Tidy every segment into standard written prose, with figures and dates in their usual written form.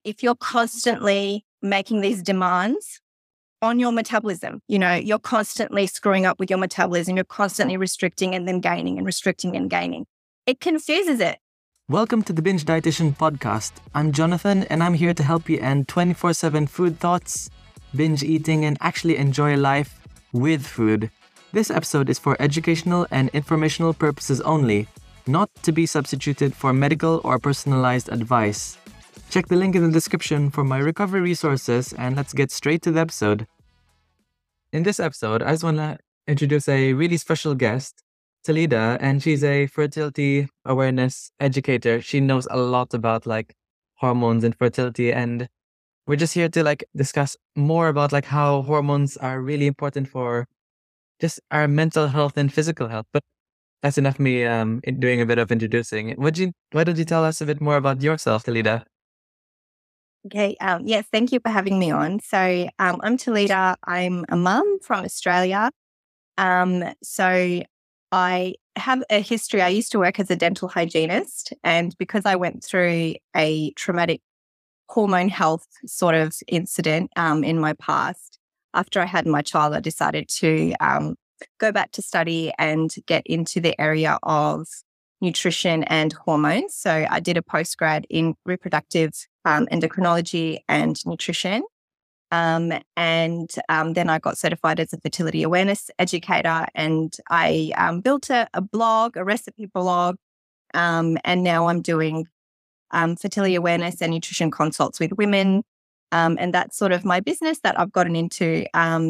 if you're constantly making these demands on your metabolism, you're constantly screwing up with your metabolism, you're constantly restricting and then gaining and restricting and gaining. It confuses it. Welcome to the Binge Dietitian Podcast. I'm Jonathan, and I'm here to help you end 24/7 food thoughts, binge eating, and actually enjoy life with food. This episode is for educational and informational purposes only, not to be substituted for medical or personalized advice. Check the link in the description for my recovery resources, and let's get straight to the episode. In this episode, I just want to introduce a really special guest, Talida, and she's a fertility awareness educator. She knows a lot about hormones and fertility, and we're just here to discuss more about how hormones are really important for just our mental health and physical health. But that's enough of me doing a bit of introducing. Why don't you tell us a bit more about yourself, Talida? Okay. Yes, thank you for having me on. So I'm Talida. I'm a mum from Australia. So I have a history. I used to work as a dental hygienist, and because I went through a traumatic hormone health sort of incident in my past, after I had my child, I decided to go back to study and get into the area of nutrition and hormones. So I did a postgrad in reproductive endocrinology and nutrition. And then I got certified as a fertility awareness educator, and I built a blog, a recipe blog, and now I'm doing fertility awareness and nutrition consults with women. And that's sort of my business that I've gotten into.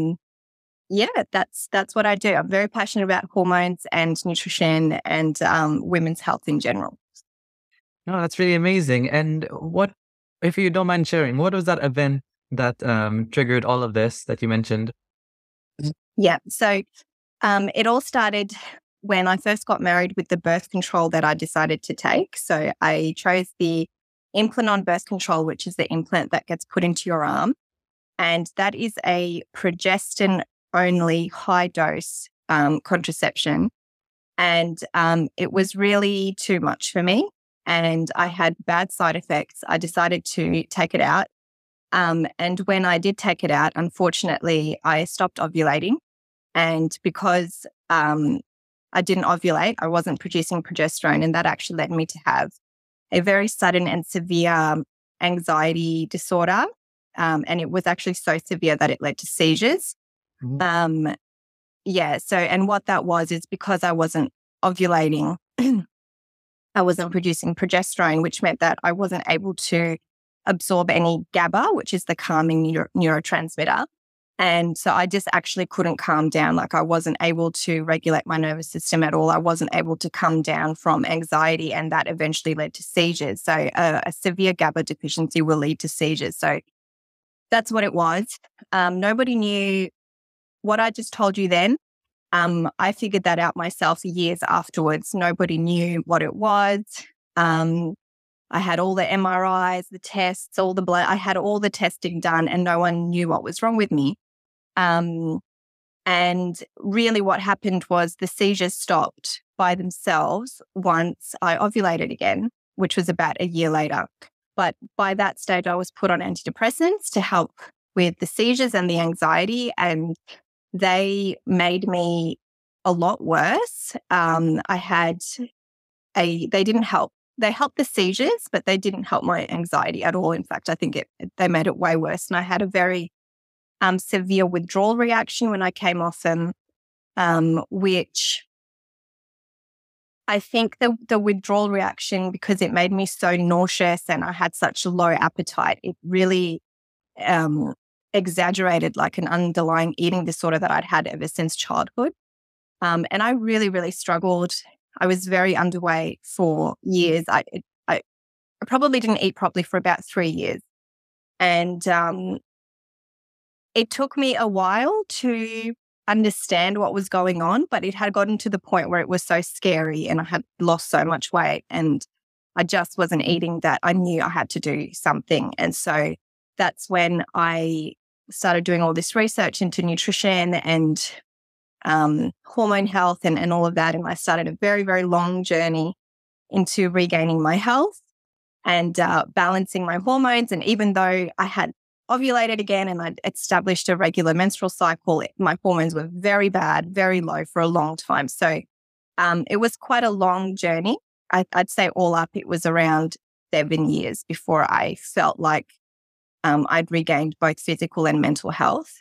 That's what I do. I'm very passionate about hormones and nutrition and women's health in general. No, that's really amazing. And what, if you don't mind sharing, what was that event that triggered all of this that you mentioned? Yeah. So it all started when I first got married with the birth control that I decided to take. So I chose the Implanon birth control, which is the implant that gets put into your arm. And that is a progestin-only high-dose contraception. And it was really too much for me. And I had bad side effects. I decided to take it out. And when I did take it out, unfortunately, I stopped ovulating. And because I didn't ovulate, I wasn't producing progesterone. And that actually led me to have a very sudden and severe anxiety disorder. And it was actually so severe that it led to seizures. Mm-hmm. And what that was is because I wasn't ovulating, I wasn't producing progesterone, which meant that I wasn't able to absorb any GABA, which is the calming neurotransmitter. And so I just actually couldn't calm down. I wasn't able to regulate my nervous system at all. I wasn't able to come down from anxiety, and that eventually led to seizures. So a severe GABA deficiency will lead to seizures. So that's what it was. Nobody knew what I just told you then. I figured that out myself years afterwards. Nobody knew what it was. I had all the MRIs, the tests, all the blood. I had all the testing done, and no one knew what was wrong with me. And really what happened was the seizures stopped by themselves once I ovulated again, which was about a year later. But by that stage, I was put on antidepressants to help with the seizures and the anxiety, and they made me a lot worse. They didn't help. They helped the seizures, but they didn't help my anxiety at all. In fact, I think they made it way worse. And I had a very severe withdrawal reaction when I came off them, which I think the withdrawal reaction, because it made me so nauseous and I had such a low appetite, it really exaggerated an underlying eating disorder that I'd had ever since childhood. And I really, really struggled. I was very underweight for years. I probably didn't eat properly for about 3 years. And it took me a while to understand what was going on, but it had gotten to the point where it was so scary and I had lost so much weight and I just wasn't eating that I knew I had to do something. And so that's when I started doing all this research into nutrition and hormone health and all of that. And I started a very, very long journey into regaining my health. and balancing my hormones. And even though I had ovulated again and I'd established a regular menstrual cycle, my hormones were very bad, very low for a long time. So it was quite a long journey. I'd say all up, it was around 7 years before I felt like I'd regained both physical and mental health.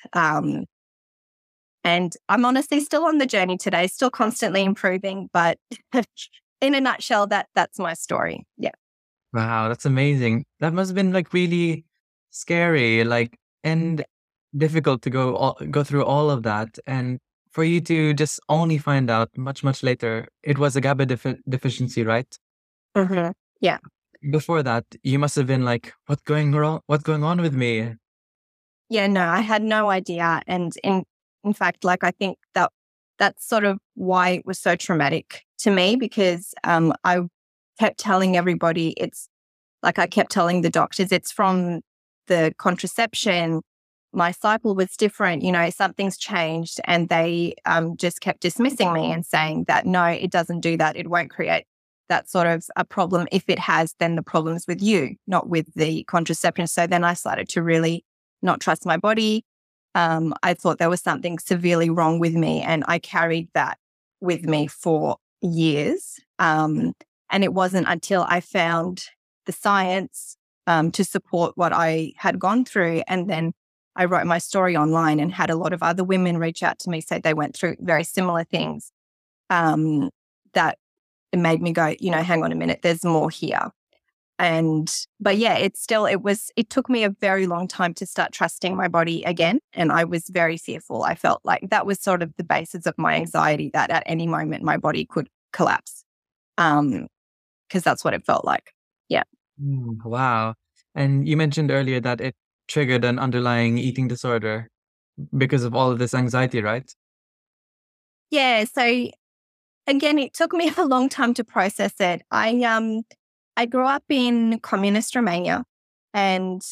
And I'm honestly still on the journey today, still constantly improving. But in a nutshell, that's my story. Yeah. Wow, that's amazing. That must have been like really scary, like, and difficult to go through all of that, and for you to just only find out much later it was a GABA deficiency, right? Mm-hmm. Yeah. Before that, you must have been like, what's going wrong? What's going on with me? Yeah, no, I had no idea. And in fact, like, I think that's sort of why it was so traumatic to me, because I kept telling everybody, it's like, I kept telling the doctors, it's from the contraception. My cycle was different, something's changed. And they just kept dismissing me and saying that, no, it doesn't do that. It won't create that sort of a problem. If it has, then the problem's with you, not with the contraception. So then I started to really not trust my body. I thought there was something severely wrong with me, and I carried that with me for years. And it wasn't until I found the science to support what I had gone through, and then I wrote my story online and had a lot of other women reach out to me, say they went through very similar things, that it made me go, hang on a minute, there's more here. But yeah, it took me a very long time to start trusting my body again. And I was very fearful. I felt like that was sort of the basis of my anxiety, that at any moment my body could collapse. Because that's what it felt like. Yeah. Wow. And you mentioned earlier that it triggered an underlying eating disorder because of all of this anxiety, right? Yeah. So again, it took me a long time to process it. I grew up in communist Romania, and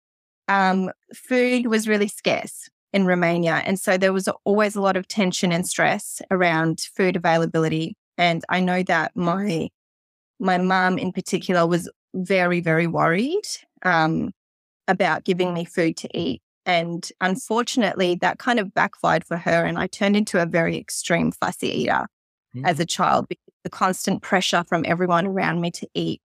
food was really scarce in Romania. And so there was always a lot of tension and stress around food availability. And I know that my mum in particular was very, very worried about giving me food to eat. And unfortunately, that kind of backfired for her. And I turned into a very extreme fussy eater as a child, because the constant pressure from everyone around me to eat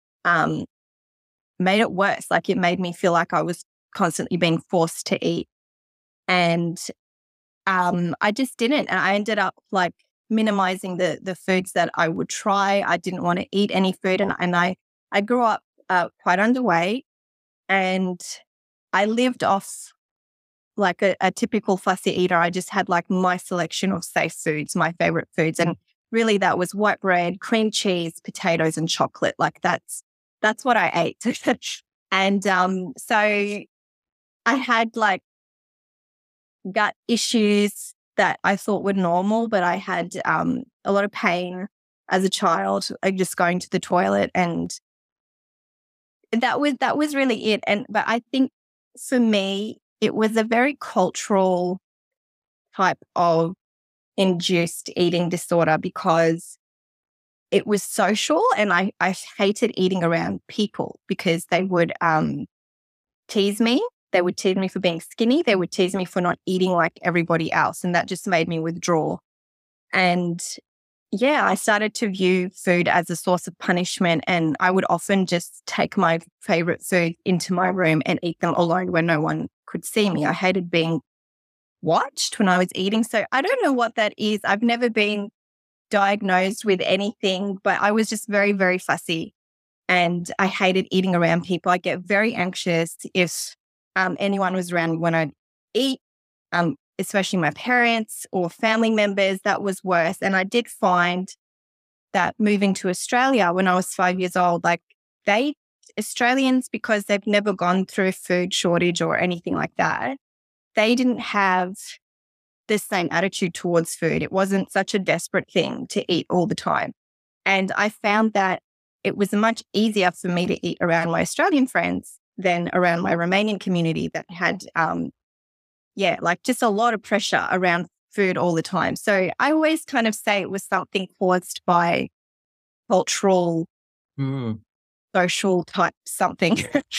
made it worse. Like, it made me feel like I was constantly being forced to eat. And I just didn't. And I ended up like minimizing the foods that I would try. I didn't want to eat any food. And I grew up quite underweight, and I lived off like a typical fussy eater. I just had like my selection of safe foods, my favorite foods. And really that was white bread, cream cheese, potatoes, and chocolate. Like that's what I ate. And so I had like gut issues that I thought were normal, but I had a lot of pain as a child, just going to the toilet, and that was really it. But I think for me, it was a very cultural type of induced eating disorder, because it was social, and I hated eating around people, because they would tease me. They would tease me for being skinny. They would tease me for not eating like everybody else. And that just made me withdraw. And yeah, I started to view food as a source of punishment. And I would often just take my favorite food into my room and eat them alone where no one could see me. I hated being watched when I was eating. So I don't know what that is. I've never been diagnosed with anything, but I was just very, very fussy. And I hated eating around people. I get very anxious if anyone was around when I'd eat, especially my parents or family members. That was worse. And I did find that moving to Australia when I was 5 years old, like Australians, because they've never gone through a food shortage or anything like that, they didn't have the same attitude towards food. It wasn't such a desperate thing to eat all the time. And I found that it was much easier for me to eat around my Australian friends than around my Romanian community that had, like just a lot of pressure around food all the time. So I always kind of say it was something caused by cultural social type something.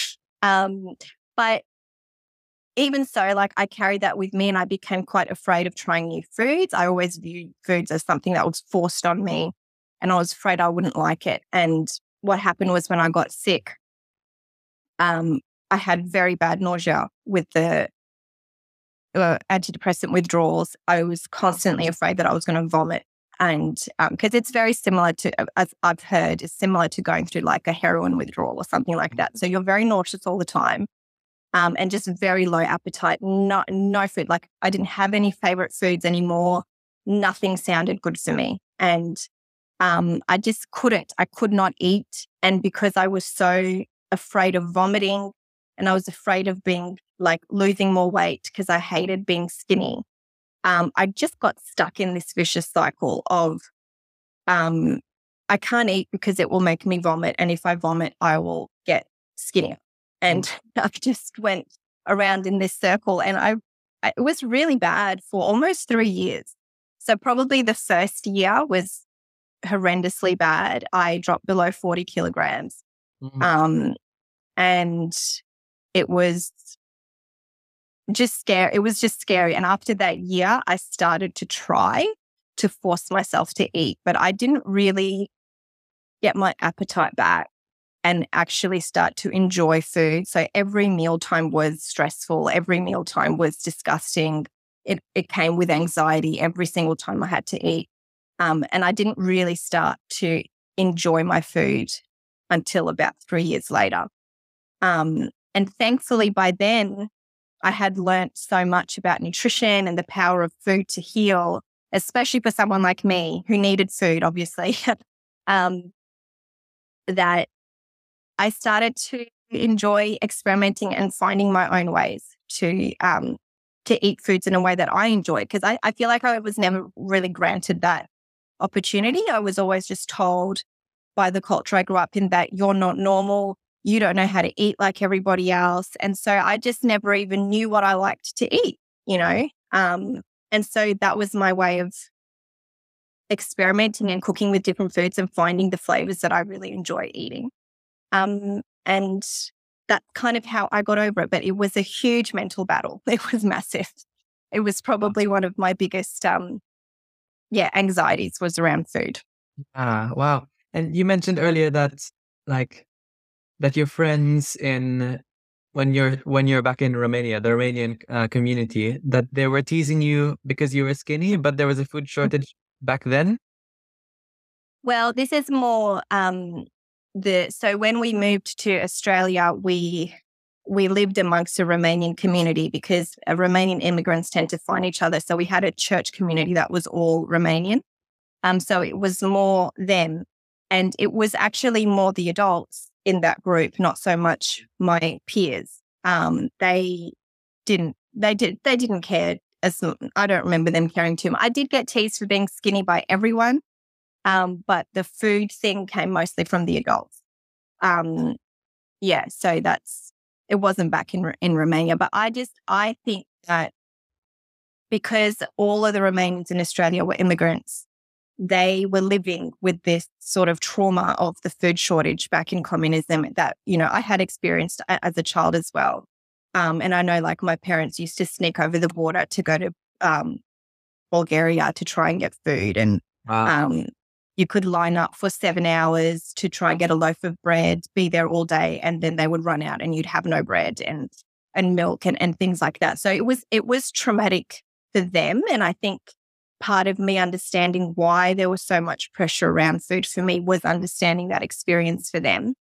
But even so, like I carried that with me and I became quite afraid of trying new foods. I always viewed foods as something that was forced on me and I was afraid I wouldn't like it. And what happened was when I got sick, I had very bad nausea with the antidepressant withdrawals. I was constantly afraid that I was going to vomit. And because it's very similar to, as I've heard, it's similar to going through like a heroin withdrawal or something like that. So you're very nauseous all the time. And just very low appetite, no food. Like I didn't have any favorite foods anymore. Nothing sounded good for me. And I just couldn't. I could not eat. And because I was so afraid of vomiting and I was afraid of being like losing more weight because I hated being skinny, I just got stuck in this vicious cycle of I can't eat because it will make me vomit. And if I vomit, I will get skinnier. And I just went around in this circle and it was really bad for almost 3 years. So probably the first year was horrendously bad. I dropped below 40 kilograms. And it was just scary. It was just scary. And after that year, I started to try to force myself to eat, but I didn't really get my appetite back and actually start to enjoy food. So every mealtime was stressful. Every mealtime was disgusting. It came with anxiety every single time I had to eat. And I didn't really start to enjoy my food until about 3 years later. And thankfully by then, I had learnt so much about nutrition and the power of food to heal, especially for someone like me who needed food, obviously, that I started to enjoy experimenting and finding my own ways to eat foods in a way that I enjoyed. Because I feel like I was never really granted that opportunity. I was always just told by the culture I grew up in that you're not normal, you don't know how to eat like everybody else. And so I just never even knew what I liked to eat, you know? And so that was my way of experimenting and cooking with different foods and finding the flavors that I really enjoy eating. And that's kind of how I got over it. But it was a huge mental battle. It was massive. It was probably one of my biggest, anxieties was around food. Wow. And you mentioned earlier that that your friends when you're back in Romania, the Romanian community, that they were teasing you because you were skinny, but there was a food shortage back then? Well, this is more so when we moved to Australia, we lived amongst a Romanian community because Romanian immigrants tend to find each other. So we had a church community that was all Romanian. So it was more them. And it was actually more the adults in that group, not so much my peers. They didn't care. I don't remember them caring too much. I did get teased for being skinny by everyone. But the food thing came mostly from the adults. So it wasn't back in Romania. But I think that because all of the Romanians in Australia were immigrants, they were living with this sort of trauma of the food shortage back in communism that, you know, I had experienced as a child as well. And I know like my parents used to sneak over the border to go to Bulgaria to try and get food. And you could line up for 7 hours to try and get a loaf of bread, be there all day, and then they would run out and you'd have no bread and milk and things like that. So it was traumatic for them. And I think part of me understanding why there was so much pressure around food for me was understanding that experience for them.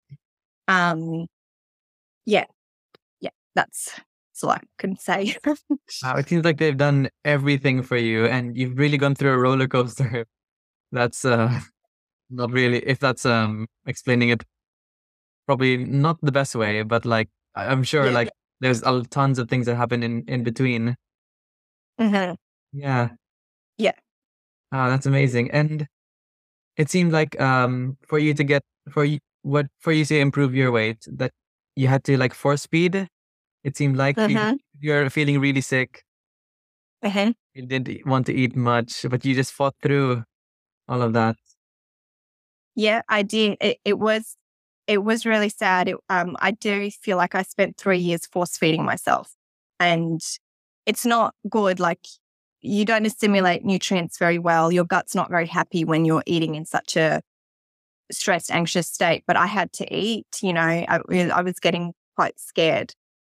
That's all I can say. Wow, it seems like they've done everything for you and you've really gone through a roller coaster. That's not really, if that's explaining it probably not the best way, but like I'm sure like there's tons of things that happen in between. Mm-hmm. Yeah. Yeah. That's amazing. And it seemed like for you to improve your weight, that you had to like force feed. It seemed like you're feeling really sick. You didn't want to eat much, but you just fought through all of that. Yeah, I did. It was it was really sad. I do feel like I spent 3 years force feeding myself, and it's not good. Like, you don't assimilate nutrients very well. Your gut's not very happy when you're eating in such a stressed, anxious state. But I had to eat, I was getting quite scared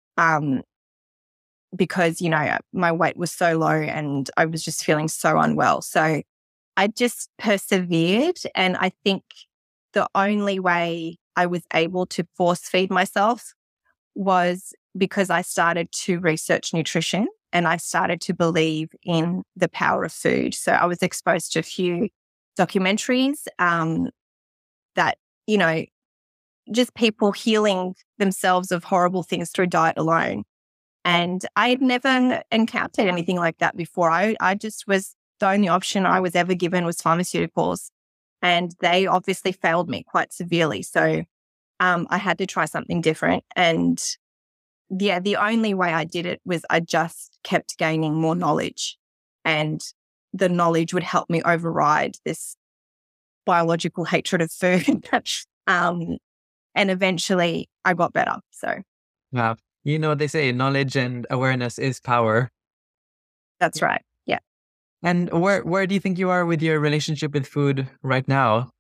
because, my weight was so low and I was just feeling so unwell. So I just persevered. And I think the only way I was able to force feed myself was because I started to research nutrition and I started to believe in the power of food. So I was exposed to a few documentaries that, just people healing themselves of horrible things through diet alone. And I had never encountered anything like that before. I just was, the only option I was ever given was pharmaceuticals. And they obviously failed me quite severely. So I had to try something different. And yeah, the only way I did it was I just kept gaining more knowledge. And the knowledge would help me override this biological hatred of food. And eventually I got better. So Wow. They say knowledge and awareness is power. that's right. Yeah. And where do you think you are with your relationship with food right now?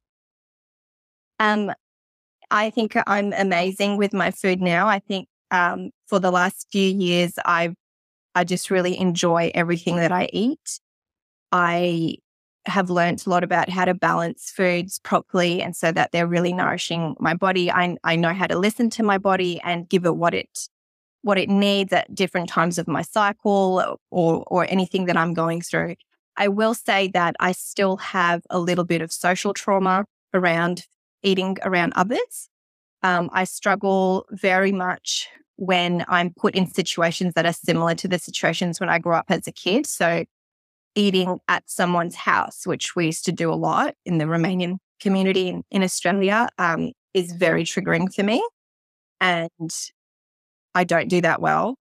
I think I'm amazing with my food now. I think for the last few years, I just really enjoy everything that I eat. I have learned a lot about how to balance foods properly and so that they're really nourishing my body. I know how to listen to my body and give it what it needs at different times of my cycle or anything that I'm going through. I will say that I still have a little bit of social trauma around eating around others. I struggle very much when I'm put in situations that are similar to the situations when I grew up as a kid. So eating at someone's house, which we used to do a lot in the Romanian community in Australia, is very triggering for me. And I don't do that well.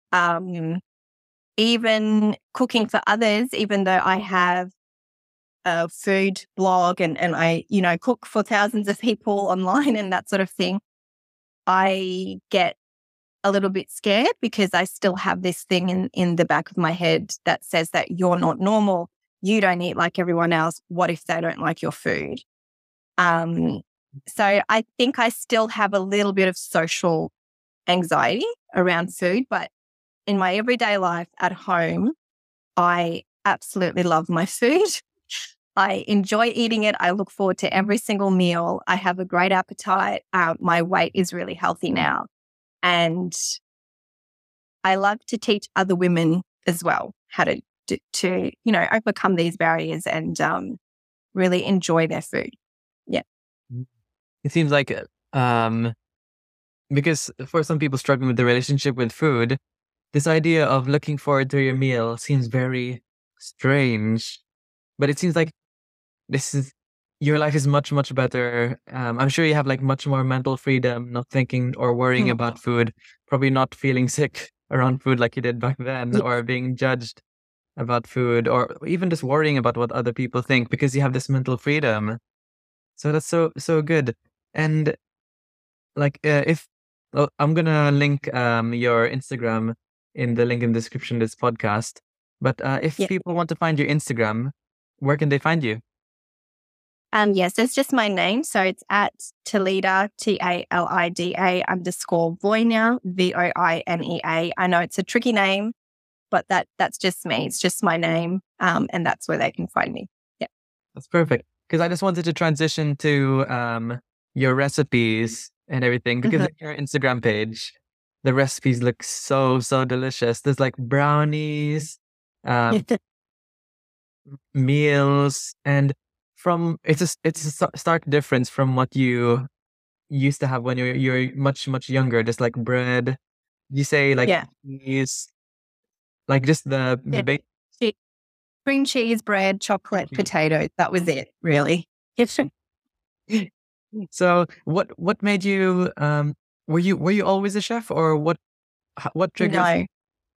Even cooking for others, even though I have a food blog and I, cook for thousands of people online and that sort of thing, I get a little bit scared because I still have this thing in the back of my head that says that you're not normal. You don't eat like everyone else. What if they don't like your food? So I think I still have a little bit of social anxiety around food, but in my everyday life at home, I absolutely love my food. I enjoy eating it. I look forward to every single meal. I have a great appetite. My weight is really healthy now. And I love to teach other women as well how to overcome these barriers and really enjoy their food. Yeah. It seems like because for some people struggling with the relationship with food, this idea of looking forward to your meal seems very strange. But it seems like your life is much, much better. I'm sure you have like much more mental freedom, not thinking or worrying about food, probably not feeling sick around food like you did back then, or being judged about food, or even just worrying about what other people think because you have this mental freedom. So that's so good. And like I'm gonna link your Instagram in the link in the description of this podcast. But if people want to find your Instagram, where can they find you? Yes, it's just my name. So it's at Talida, TALIDA _Voinea, VOINEA. I know it's a tricky name, but that's just me. It's just my name. And that's where they can find me. Yeah. That's perfect. Because I just wanted to transition to your recipes and everything. Because on your Instagram page, the recipes look so delicious. There's like brownies, meals, and it's a stark difference from what you used to have when you're much younger. Just like bread, you say like cheese, like just the basic. Cream cheese, bread, chocolate, potatoes. That was it, really. So what made you were you always a chef, or what triggered?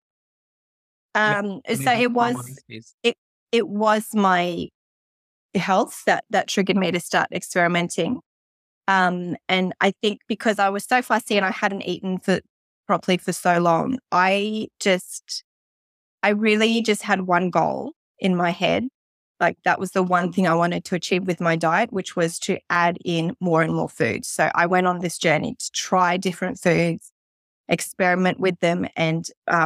No. So it was my health that triggered me to start experimenting. And I think because I was so fussy and I hadn't eaten properly for so long, I really just had one goal in my head. Like that was the one thing I wanted to achieve with my diet, which was to add in more and more foods. So I went on this journey to try different foods, experiment with them. And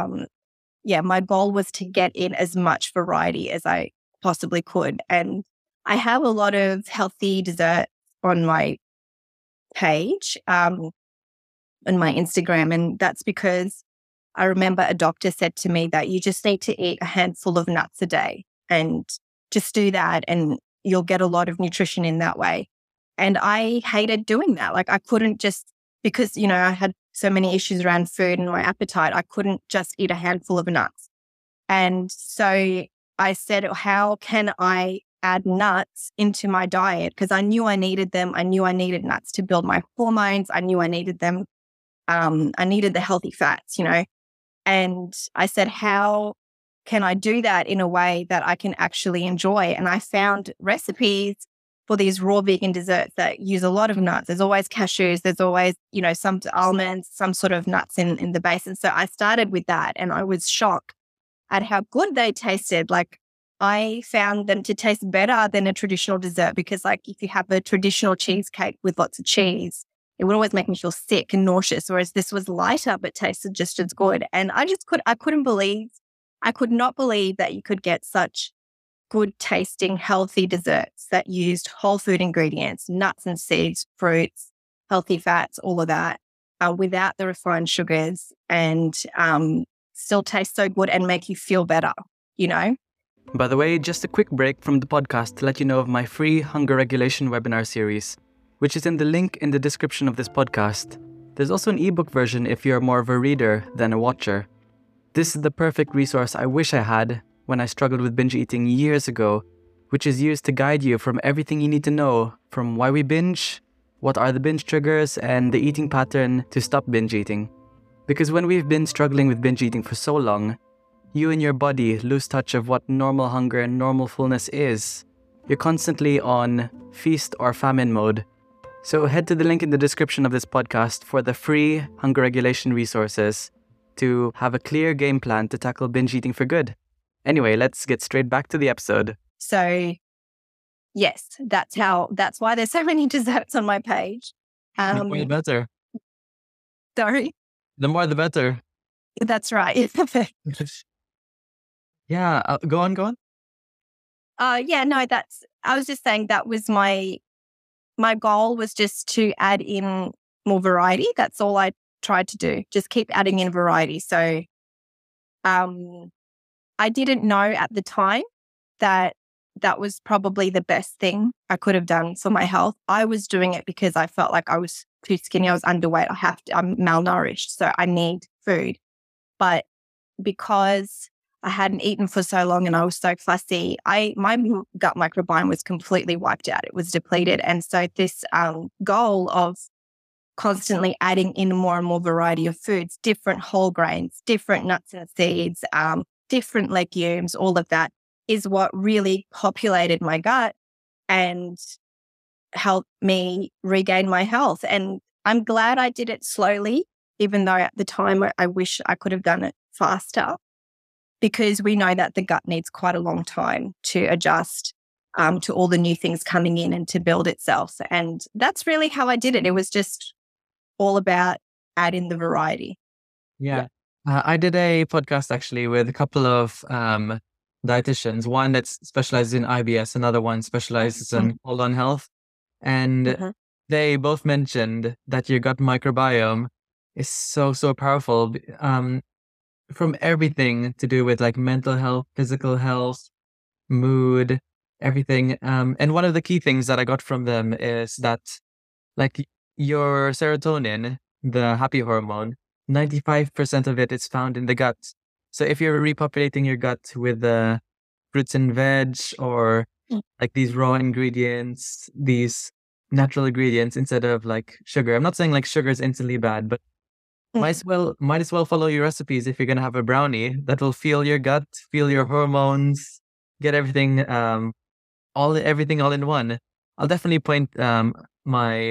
my goal was to get in as much variety as I possibly could. And I have a lot of healthy desserts on my page, on my Instagram. And that's because I remember a doctor said to me that you just need to eat a handful of nuts a day and just do that and you'll get a lot of nutrition in that way. And I hated doing that. Like I couldn't just, because, I had so many issues around food and my appetite, I couldn't just eat a handful of nuts. And so I said, how can I add nuts into my diet? Because I knew I needed them. I knew I needed nuts to build my hormones. I knew I needed them. I needed the healthy fats, And I said, how can I do that in a way that I can actually enjoy? And I found recipes for these raw vegan desserts that use a lot of nuts. There's always cashews. There's always, some almonds, some sort of nuts in the base. And so I started with that and I was shocked at how good they tasted. Like I found them to taste better than a traditional dessert because like if you have a traditional cheesecake with lots of cheese, it would always make me feel sick and nauseous, whereas this was lighter but tasted just as good. And I could not believe that you could get such good tasting, healthy desserts that used whole food ingredients, nuts and seeds, fruits, healthy fats, all of that, without the refined sugars and still taste so good and make you feel better, By the way, just a quick break from the podcast to let you know of my free hunger regulation webinar series, which is in the link in the description of this podcast. There's also an ebook version if you're more of a reader than a watcher. This is the perfect resource I wish I had when I struggled with binge eating years ago, which is used to guide you from everything you need to know, from why we binge, what are the binge triggers, and the eating pattern to stop binge eating. Because when we've been struggling with binge eating for so long, you and your body lose touch of what normal hunger and normal fullness is. You're constantly on feast or famine mode. So head to the link in the description of this podcast for the free hunger regulation resources to have a clear game plan to tackle binge eating for good. Anyway, let's get straight back to the episode. So yes, that's why there's so many desserts on my page. The more the better. Sorry? The more the better. That's right. Yeah, go on. I was just saying that was my goal was just to add in more variety. That's all I tried to do. Just keep adding in variety. So I didn't know at the time that was probably the best thing I could have done for my health. I was doing it because I felt like I was too skinny. I was underweight. I'm malnourished. So I need food. But because I hadn't eaten for so long and I was so fussy, my gut microbiome was completely wiped out. It was depleted. And so this goal of constantly adding in more and more variety of foods, different whole grains, different nuts and seeds, different legumes, all of that is what really populated my gut and helped me regain my health. And I'm glad I did it slowly, even though at the time I wish I could have done it faster, because we know that the gut needs quite a long time to adjust to all the new things coming in and to build itself. And that's really how I did it. It was just all about adding the variety. Yeah. I did a podcast actually with a couple of dietitians, one that specializes in IBS, another one specializes in colon health. And they both mentioned that your gut microbiome is so powerful from everything to do with like mental health, physical health, mood, everything. And one of the key things that I got from them is that like your serotonin, the happy hormone, 95% of it is found in the gut. So if you're repopulating your gut with fruits and veg or like these raw ingredients, these natural ingredients instead of like sugar. I'm not saying like sugar is instantly bad, but might as well follow your recipes if you're gonna have a brownie that will feel your gut, feel your hormones, get everything all in one. I'll definitely point my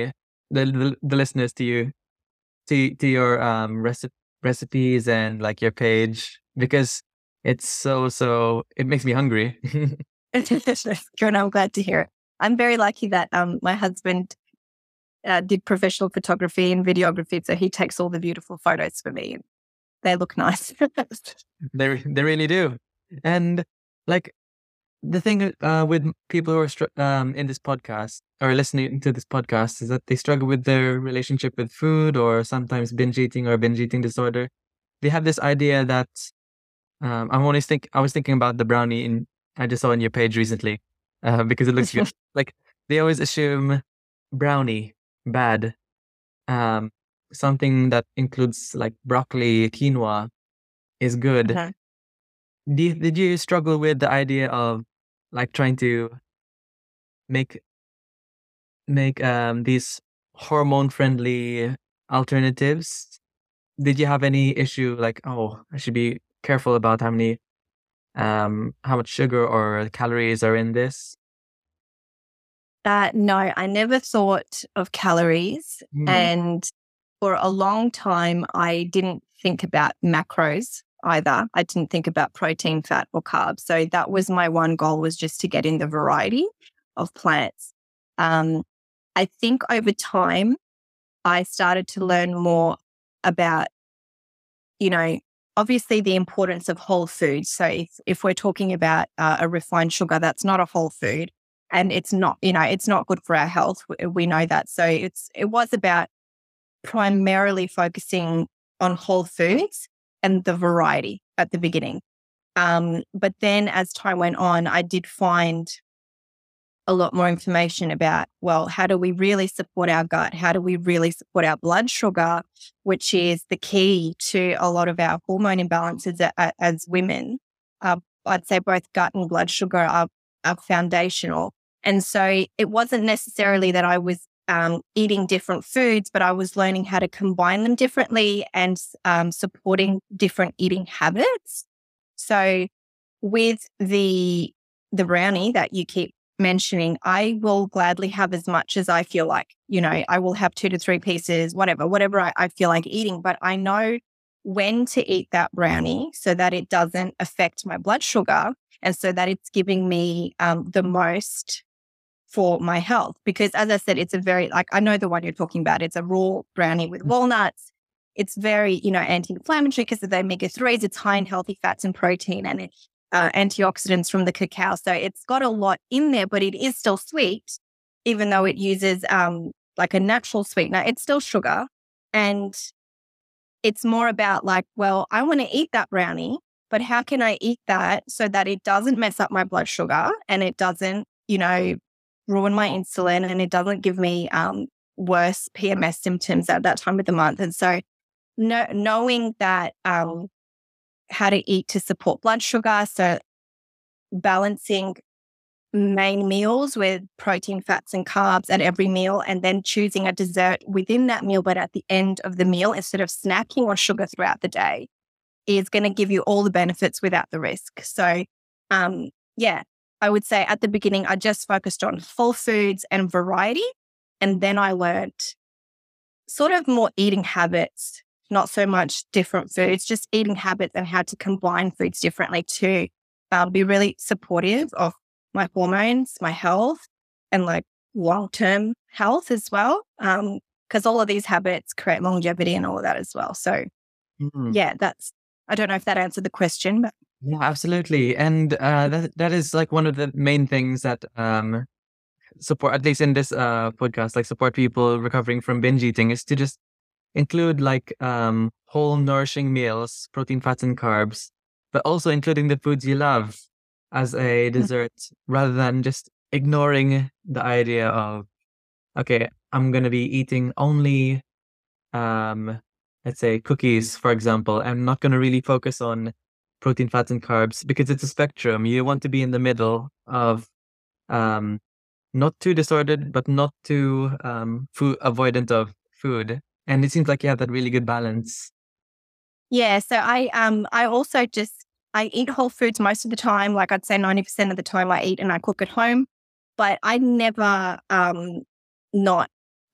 the listeners to you to your recipes and like your page, because it's so it makes me hungry. Good, I'm glad to hear it. I'm very lucky that my husband did professional photography and videography, so he takes all the beautiful photos for me. They look nice. They really do. And like the thing with people who are in this podcast or listening to this podcast is that they struggle with their relationship with food, or sometimes binge eating or binge eating disorder. They have this idea that I was thinking about the brownie I just saw on your page recently, because it looks good. Like they always assume brownie bad, um, something that includes like broccoli, quinoa is good. Uh-huh. Did you struggle with the idea of like trying to make these hormone friendly alternatives? Did you have any issue like, oh, I should be careful about how much sugar or calories are in this? No, I never thought of calories. Mm. And for a long time, I didn't think about macros either. I didn't think about protein, fat, or carbs. So that was my one goal, was just to get in the variety of plants. I think over time, I started to learn more about, obviously the importance of whole foods. So if we're talking about a refined sugar, that's not a whole food. And it's not, it's not good for our health. We know that. So it was about primarily focusing on whole foods and the variety at the beginning. But then as time went on, I did find a lot more information about, well, how do we really support our gut? How do we really support our blood sugar, which is the key to a lot of our hormone imbalances as women? I'd say both gut and blood sugar are foundational. And so it wasn't necessarily that I was eating different foods, but I was learning how to combine them differently and supporting different eating habits. So with the brownie that you keep mentioning, I will gladly have as much as I feel like. I will have 2 to 3 pieces, whatever I feel like eating, but I know when to eat that brownie so that it doesn't affect my blood sugar and so that it's giving me the most for my health. Because as I said, it's a very, I know the one you're talking about. It's a raw brownie with walnuts. It's very, anti-inflammatory because of the omega-3s. It's high in healthy fats and protein, and it's antioxidants from the cacao. So it's got a lot in there, but it is still sweet, even though it uses like a natural sweetener. It's still sugar. And it's more about well, I want to eat that brownie, but how can I eat that so that it doesn't mess up my blood sugar and it doesn't, ruin my insulin and it doesn't give me worse PMS symptoms at that time of the month. And so knowing that how to eat to support blood sugar, so balancing main meals with protein, fats, and carbs at every meal, and then choosing a dessert within that meal, but at the end of the meal, instead of snacking on sugar throughout the day, is going to give you all the benefits without the risk. So, I would say at the beginning, I just focused on whole foods and variety. And then I learned sort of more eating habits, not so much different foods, just eating habits and how to combine foods differently to be really supportive of my hormones, my health, and long-term health as well. Because all of these habits create longevity and all of that as well. So I don't know if that answered the question, but. Yeah, absolutely. And that is one of the main things that support, at least in this podcast, support people recovering from binge eating, is to just include whole nourishing meals, protein, fats, and carbs, but also including the foods you love as a dessert, rather than just ignoring the idea of, okay, I'm going to be eating only, let's say, cookies, for example. I'm not going to really focus on protein, fats, and carbs, because it's a spectrum. You want to be in the middle of not too disordered, but not too food avoidant of food. And it seems like you have that really good balance. Yeah. So I also I eat whole foods most of the time. I'd say 90% of the time I eat and I cook at home, but I never not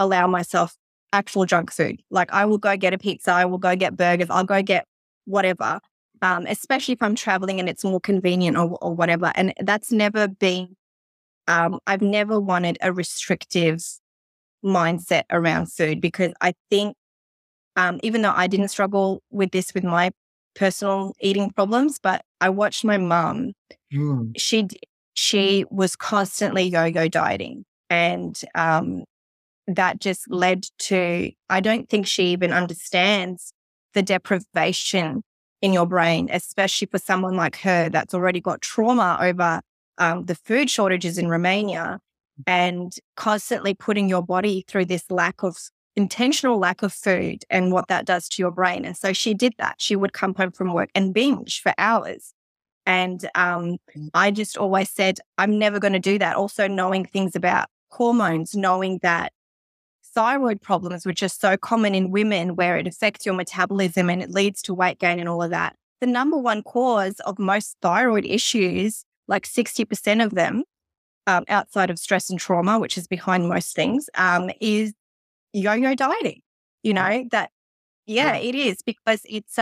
allow myself actual junk food. Like I will go get a pizza, I will go get burgers, I'll go get whatever, especially if I'm traveling and it's more convenient or whatever. And that's never been, I've never wanted a restrictive mindset around food, because I think even though I didn't struggle with this with my personal eating problems, but I watched my mum. Mm. She was constantly yo-yo dieting, and that just led to, I don't think she even understands the deprivation in your brain, especially for someone like her that's already got trauma over the food shortages in Romania, and constantly putting your body through this intentional lack of food and what that does to your brain. And so she did that. She would come home from work and binge for hours. And I just always said, I'm never going to do that. Also knowing things about hormones, knowing that thyroid problems, which are so common in women, where it affects your metabolism and it leads to weight gain and all of that. The number one cause of most thyroid issues, like 60% of them, outside of stress and trauma, which is behind most things, is yo-yo dieting. You know, that, yeah, it is, because it's,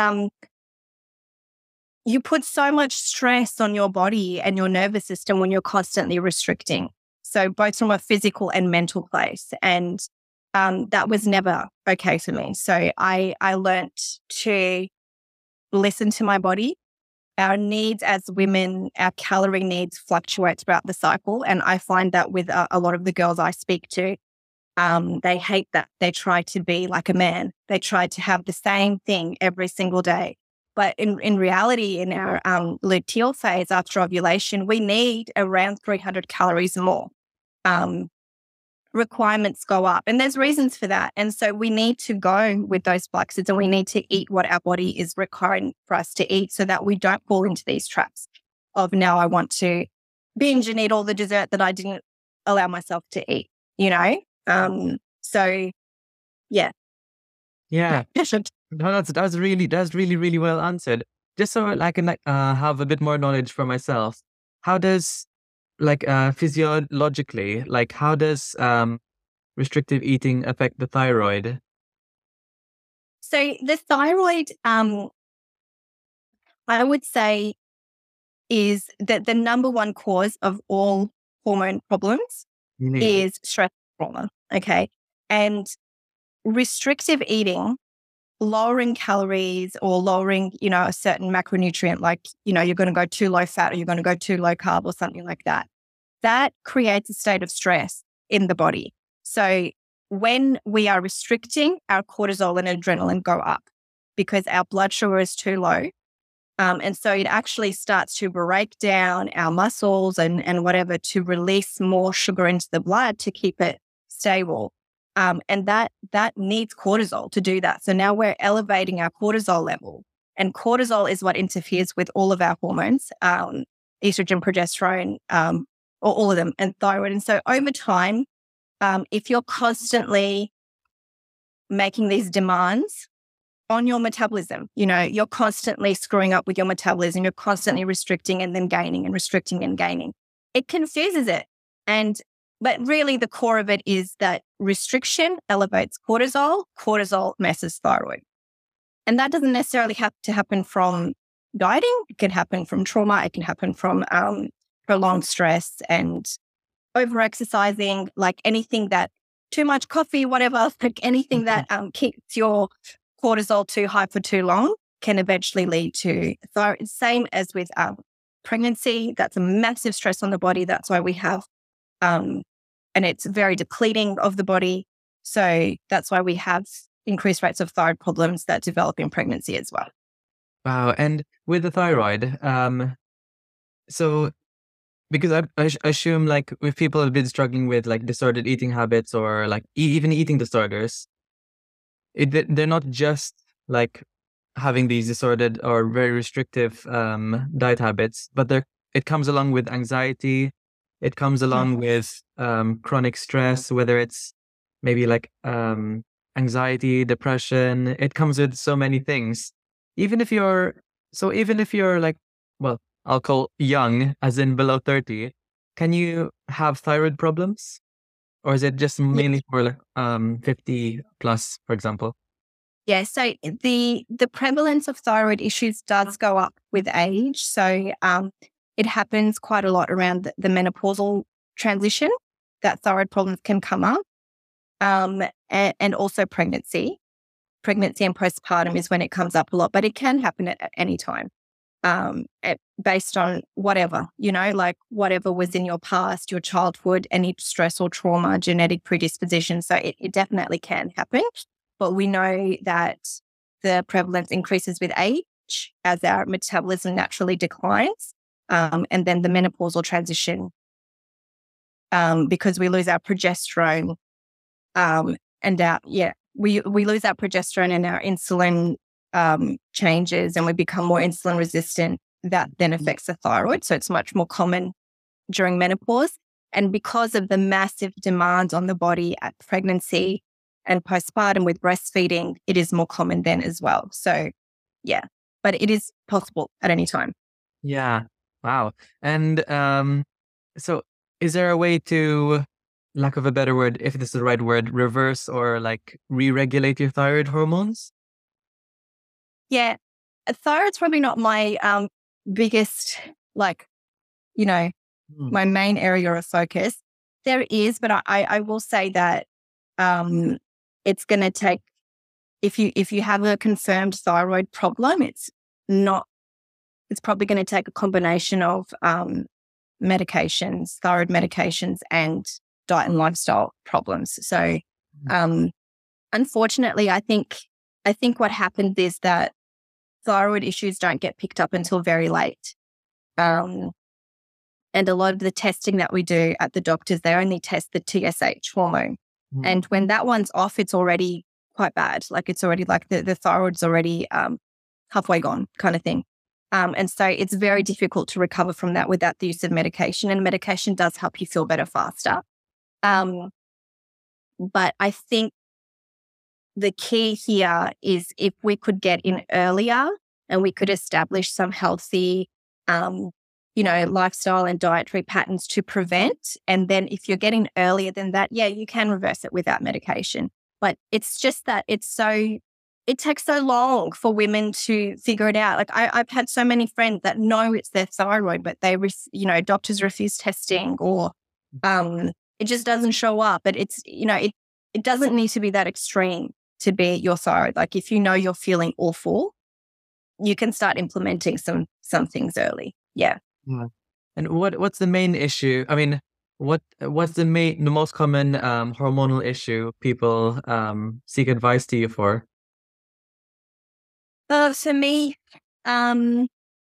you put so much stress on your body and your nervous system when you're constantly restricting. So both from a physical and mental place. And that was never okay for me. So I learnt to listen to my body. Our needs as women, our calorie needs fluctuate throughout the cycle. And I find that with a lot of the girls I speak to, they hate that. They try to be like a man. They try to have the same thing every single day. But in reality, in our luteal phase after ovulation, we need around 300 calories more. Requirements go up, and there's reasons for that. And so we need to go with those flaxseeds, and we need to eat what our body is requiring for us to eat, so that we don't fall into these traps of, now I want to binge and eat all the dessert that I didn't allow myself to eat, you know? So yeah. Yeah. No, that's really well answered. Just so I can have a bit more knowledge for myself. How does physiologically, how does restrictive eating affect the thyroid? So the thyroid, I would say, is that the number one cause of all hormone problems is stress and trauma. Okay. And restrictive eating, lowering calories or lowering, a certain macronutrient, like, you're going to go too low fat or you're going to go too low carb or something like that, that creates a state of stress in the body. So when we are restricting, our cortisol and adrenaline go up because our blood sugar is too low. And so it actually starts to break down our muscles and whatever to release more sugar into the blood to keep it stable. And that needs cortisol to do that. So now we're elevating our cortisol level. And cortisol is what interferes with all of our hormones, estrogen, progesterone, or all of them, and thyroid. And so over time, if you're constantly making these demands on your metabolism, you're constantly screwing up with your metabolism, you're constantly restricting and then gaining and restricting and gaining, it confuses it. But really the core of it is that restriction elevates cortisol, cortisol messes thyroid. And that doesn't necessarily have to happen from dieting. It can happen from trauma. It can happen from prolonged stress and over-exercising, like anything that, too much coffee, whatever, like anything that keeps your cortisol too high for too long can eventually lead to thyroid. Same as with pregnancy. That's a massive stress on the body. That's why we have and it's very depleting of the body. So that's why we have increased rates of thyroid problems that develop in pregnancy as well. Wow. And with the thyroid, so because I assume if people have been struggling with disordered eating habits or even eating disorders, they're not just having these disordered or very restrictive diet habits, but it comes along with anxiety. It comes along with chronic stress, whether it's maybe anxiety, depression. It comes with so many things. Even if you're well, I'll call young, as in below 30, can you have thyroid problems? or is it just Yeah. mainly for like 50 plus, for example? Yeah, so the prevalence of thyroid issues does go up with age. So it happens quite a lot around the menopausal transition that thyroid problems can come up, and also pregnancy. Pregnancy and postpartum is when it comes up a lot, but it can happen at any time, based on whatever, like whatever was in your past, your childhood, any stress or trauma, genetic predisposition. So it definitely can happen. But we know that the prevalence increases with age as our metabolism naturally declines. And then the menopausal transition, because we lose our progesterone, we lose our progesterone and our insulin changes, and we become more insulin resistant. That then affects the thyroid. So it's much more common during menopause. And because of the massive demand on the body at pregnancy and postpartum with breastfeeding, it is more common then as well. So yeah, but it is possible at any time. Yeah. Wow. And so is there a way to, lack of a better word, if this is the right word, reverse or like re-regulate your thyroid hormones? Yeah, thyroid's probably not my biggest, like, Hmm. my main area of focus. There is, but I will say that it's going to take, if you have a confirmed thyroid problem, it's probably going to take a combination of medications, thyroid medications, and diet and lifestyle problems. So unfortunately, I think what happens is that thyroid issues don't get picked up until very late. And a lot of the testing that we do at the doctors, they only test the TSH hormone. Mm. And when that one's off, it's already quite bad. Like it's already like the thyroid's already halfway gone kind of thing. And so it's very difficult to recover from that without the use of medication. And medication does help you feel better faster. But I think the key here is if we could get in earlier and we could establish some healthy, lifestyle and dietary patterns to prevent. And then if you're getting earlier than that, yeah, you can reverse it without medication. But it's just that it takes so long for women to figure it out. Like I've had so many friends that know it's their thyroid, but doctors refuse testing, or it just doesn't show up. But it's, it doesn't need to be that extreme to be your thyroid. Like if you know you're feeling awful, you can start implementing some things early. Yeah. Yeah. And what's the main issue? I mean, what's the most common hormonal issue people seek advice to you for? For me, I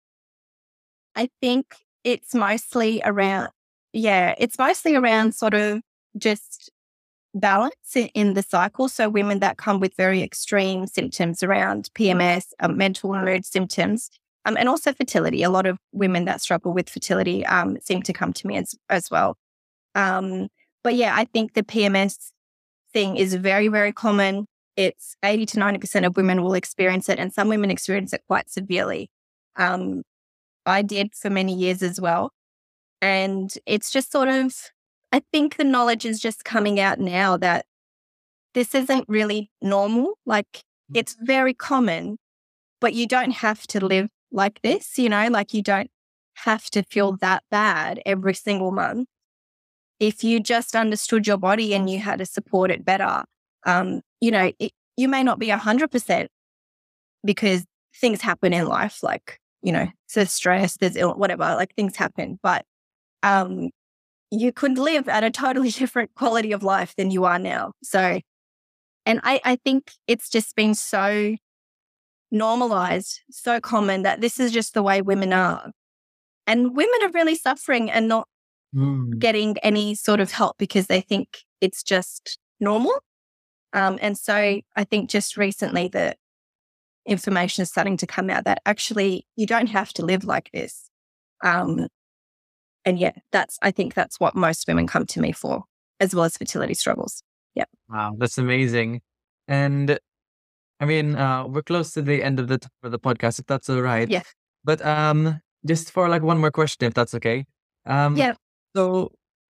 think it's mostly around sort of just balance in the cycle. So women that come with very extreme symptoms around PMS, mental and mood symptoms, and also fertility. A lot of women that struggle with fertility seem to come to me as well. But yeah, I think the PMS thing is very, very common. It's 80 to 90% of women will experience it, and some women experience it quite severely. I did for many years as well. And it's just sort of, I think the knowledge is just coming out now that this isn't really normal. Like it's very common, but you don't have to live like this, like you don't have to feel that bad every single month. If you just understood your body and you had to support it better, you may not be 100% because things happen in life, like, there's stress, there's whatever, like things happen, but you could live at a totally different quality of life than you are now. So, and I think it's just been so normalized, so common that this is just the way women are. And women are really suffering and not getting any sort of help because they think it's just normal. And so I think just recently the information is starting to come out that actually you don't have to live like this. And yeah, I think that's what most women come to me for, as well as fertility struggles. Yep. Wow, that's amazing. And I mean, we're close to the end of the podcast, if that's all right. Yeah. But just for like one more question, if that's okay. Yeah. So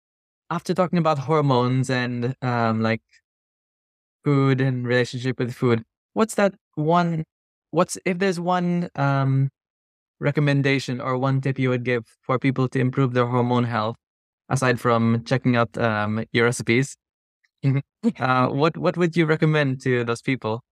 after talking about hormones and like food and relationship with food, what's that one? What's if there's one recommendation or one tip you would give for people to improve their hormone health, aside from checking out your recipes? What would you recommend to those people?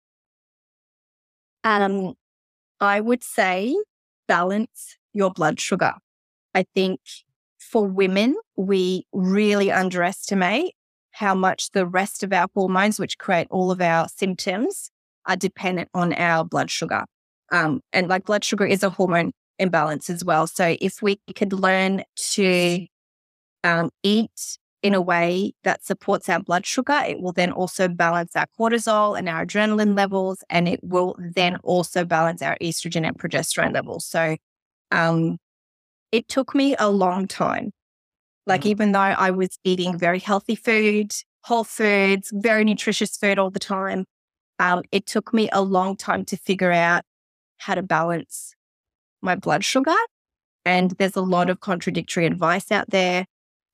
I would say balance your blood sugar. I think for women, we really underestimate how much the rest of our hormones, which create all of our symptoms, are dependent on our blood sugar. And like blood sugar is a hormone imbalance as well. So if we could learn to eat in a way that supports our blood sugar, it will then also balance our cortisol and our adrenaline levels, and it will then also balance our estrogen and progesterone levels. So it took me a long time. Like, even though I was eating very healthy food, whole foods, very nutritious food all the time, it took me a long time to figure out how to balance my blood sugar. And there's a lot of contradictory advice out there.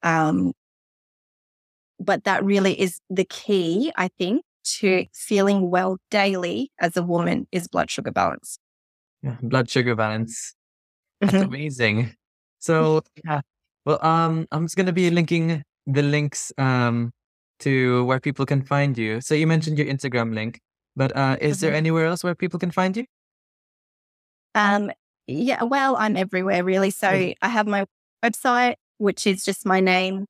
But that really is the key, I think, to feeling well daily as a woman is blood sugar balance. Yeah, blood sugar balance. That's amazing. So yeah, well, I'm just gonna be linking the links to where people can find you. So you mentioned your Instagram link, but is there anywhere else where people can find you? Yeah, well, I'm everywhere really. So I have my website, which is just my name,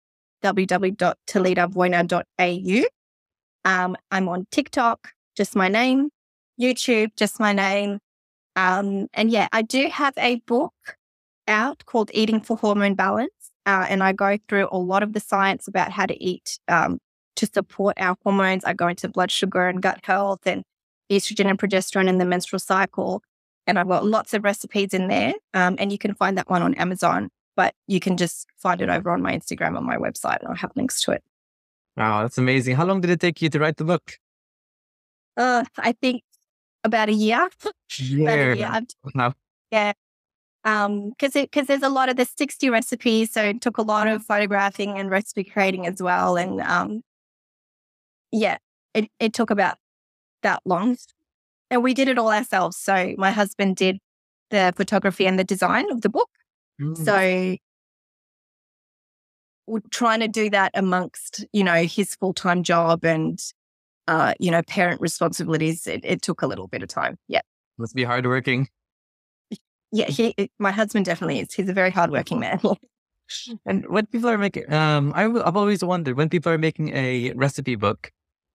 www.talidavoina.au. I'm on TikTok, just my name, YouTube, just my name. And yeah, I do have a book out called Eating for Hormone Balance. And I go through a lot of the science about how to eat to support our hormones. I go into blood sugar and gut health and estrogen and progesterone in the menstrual cycle. And I've got lots of recipes in there. And you can find that one on Amazon, but you can just find it over on my Instagram on my website, and I'll have links to it. Wow, that's amazing. How long did it take you to write the book? I think about a year. About a year. Wow. Yeah. Because there's a lot of, there's 60 recipes, so it took a lot of photographing and recipe creating as well. And yeah, it took about that long. And we did it all ourselves. So my husband did the photography and the design of the book. So we're trying to do that amongst, his full-time job and, parent responsibilities. It took a little bit of time. Yeah. Must be hardworking. Yeah, my husband definitely is. He's a very hardworking man. And when people are making, I've always wondered when people are making a recipe book.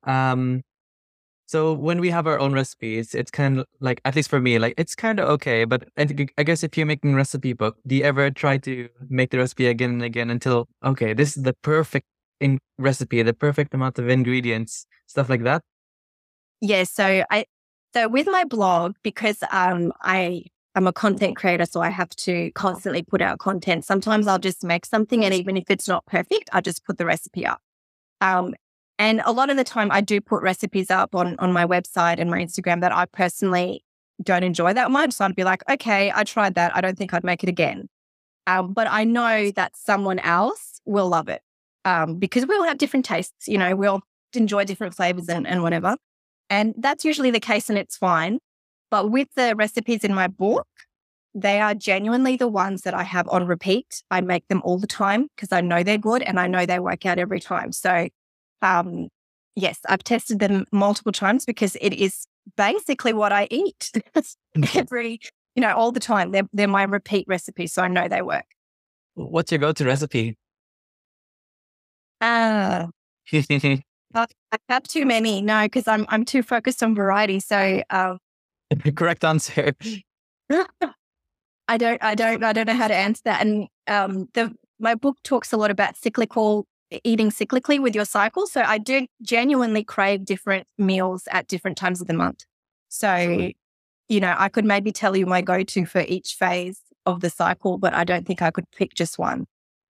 So when we have our own recipes, it's kind of like, at least for me, like it's kind of okay. But I guess if you're making a recipe book, do you ever try to make the recipe again and again until, okay, this is the perfect recipe, the perfect amount of ingredients, stuff like that? Yeah. So with my blog, because I'm a content creator, so I have to constantly put out content. Sometimes I'll just make something, and even if it's not perfect, I just put the recipe up. And a lot of the time I do put recipes up on my website and my Instagram that I personally don't enjoy that much. So I'd be like, okay, I tried that. I don't think I'd make it again. But I know that someone else will love it because we all have different tastes. We all enjoy different flavors and whatever. And that's usually the case, and it's fine. But with the recipes in my book, they are genuinely the ones that I have on repeat. I make them all the time because I know they're good and I know they work out every time. So yes, I've tested them multiple times because it is basically what I eat all the time. They're my repeat recipes, so I know they work. What's your go-to recipe? I have too many. No, because I'm too focused on variety. So correct answer. I don't know how to answer that. And my book talks a lot about eating cyclically with your cycle. So I do genuinely crave different meals at different times of the month. So, I could maybe tell you my go-to for each phase of the cycle, but I don't think I could pick just one.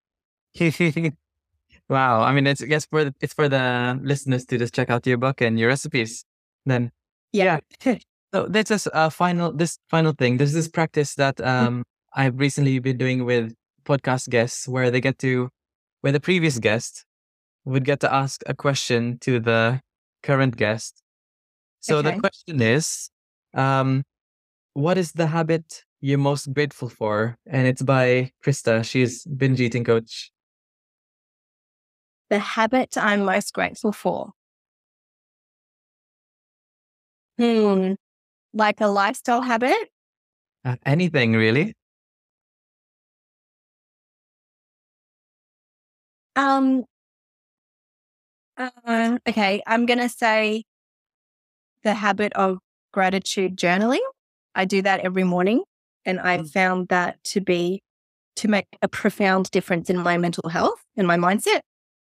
Wow. I mean, it's for the listeners to just check out your book and your recipes. Then, yeah. So that's just this final thing. There's this practice that I've recently been doing with podcast guests where they get to where the previous guest would get to ask a question to the current guest. So the Okay. question is, what is the habit you're most grateful for? And it's by Krista. She's binge eating coach. The habit I'm most grateful for. Like a lifestyle habit? Anything really? Okay, I'm going to say the habit of gratitude journaling. I do that every morning, and I've found that to make a profound difference in my mental health and my mindset.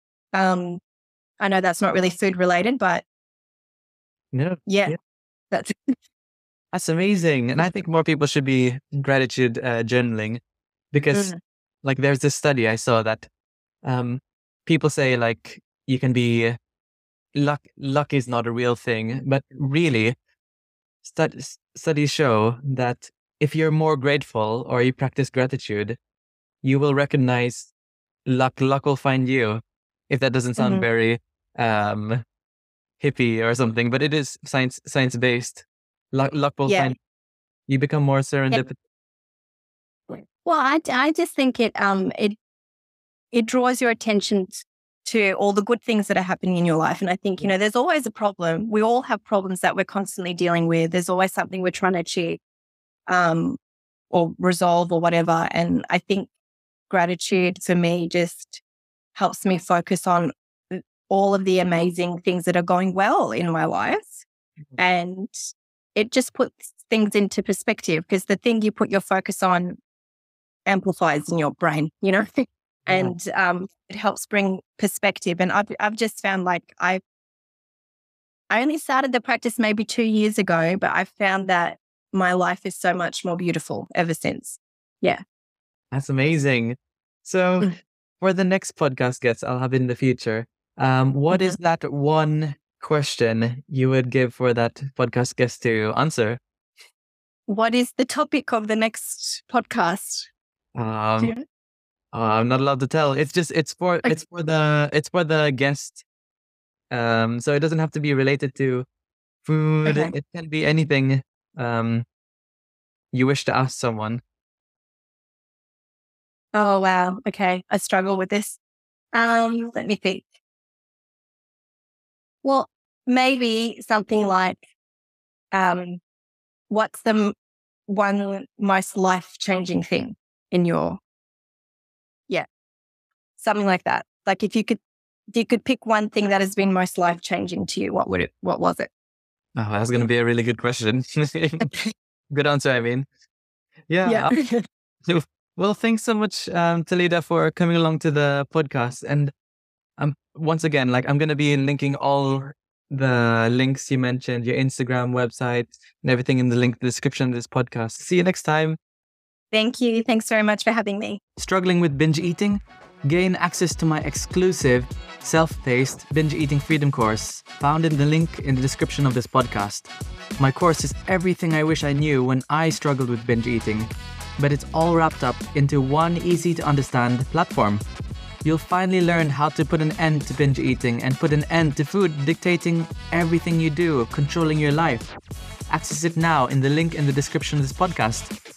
I know that's not really food related, but No. yeah. That's That's amazing. And I think more people should be gratitude journaling, because like there's this study I saw that people say like you can be luck is not a real thing, but really studies show that if you're more grateful or you practice gratitude, you will recognize luck will find you. If that doesn't sound very hippie or something, but it is science based. Luck will find you. Become more serendipitous. Well, I just think it draws your attention to all the good things that are happening in your life. And I think, there's always a problem. We all have problems that we're constantly dealing with. There's always something we're trying to achieve or resolve or whatever. And I think gratitude for me just helps me focus on all of the amazing things that are going well in my life. And it just puts things into perspective, because the thing you put your focus on amplifies in your brain, and it helps bring perspective. And I've just found like I only started the practice maybe 2 years ago, but I've found that my life is so much more beautiful ever since. Yeah. That's amazing. So for the next podcast guests I'll have in the future, what is that one question you would give for that podcast guest to answer? What is the topic of the next podcast? I'm not allowed to tell. It's for the guest. So it doesn't have to be related to food. Okay. It can be anything you wish to ask someone. Oh, wow. Okay. I struggle with this. Let me think. Well, maybe something like, what's the one most life-changing thing in your, something like that. Like if you could pick one thing that has been most life-changing to you, what was it? Oh, that's going to be a really good question. Good answer, I mean. Yeah. Well, thanks so much, Talida, for coming along to the podcast. And once again, like I'm going to be linking all the links you mentioned, your Instagram, website, and everything in the description of this podcast. See you next time. Thank you. Thanks very much for having me. Struggling with binge eating? Gain access to my exclusive self-paced binge eating freedom course found in the link in the description of this podcast. My course is everything I wish I knew when I struggled with binge eating, but it's all wrapped up into one easy to understand platform. You'll finally learn how to put an end to binge eating and put an end to food dictating everything you do, controlling your life. Access it now in the link in the description of this podcast.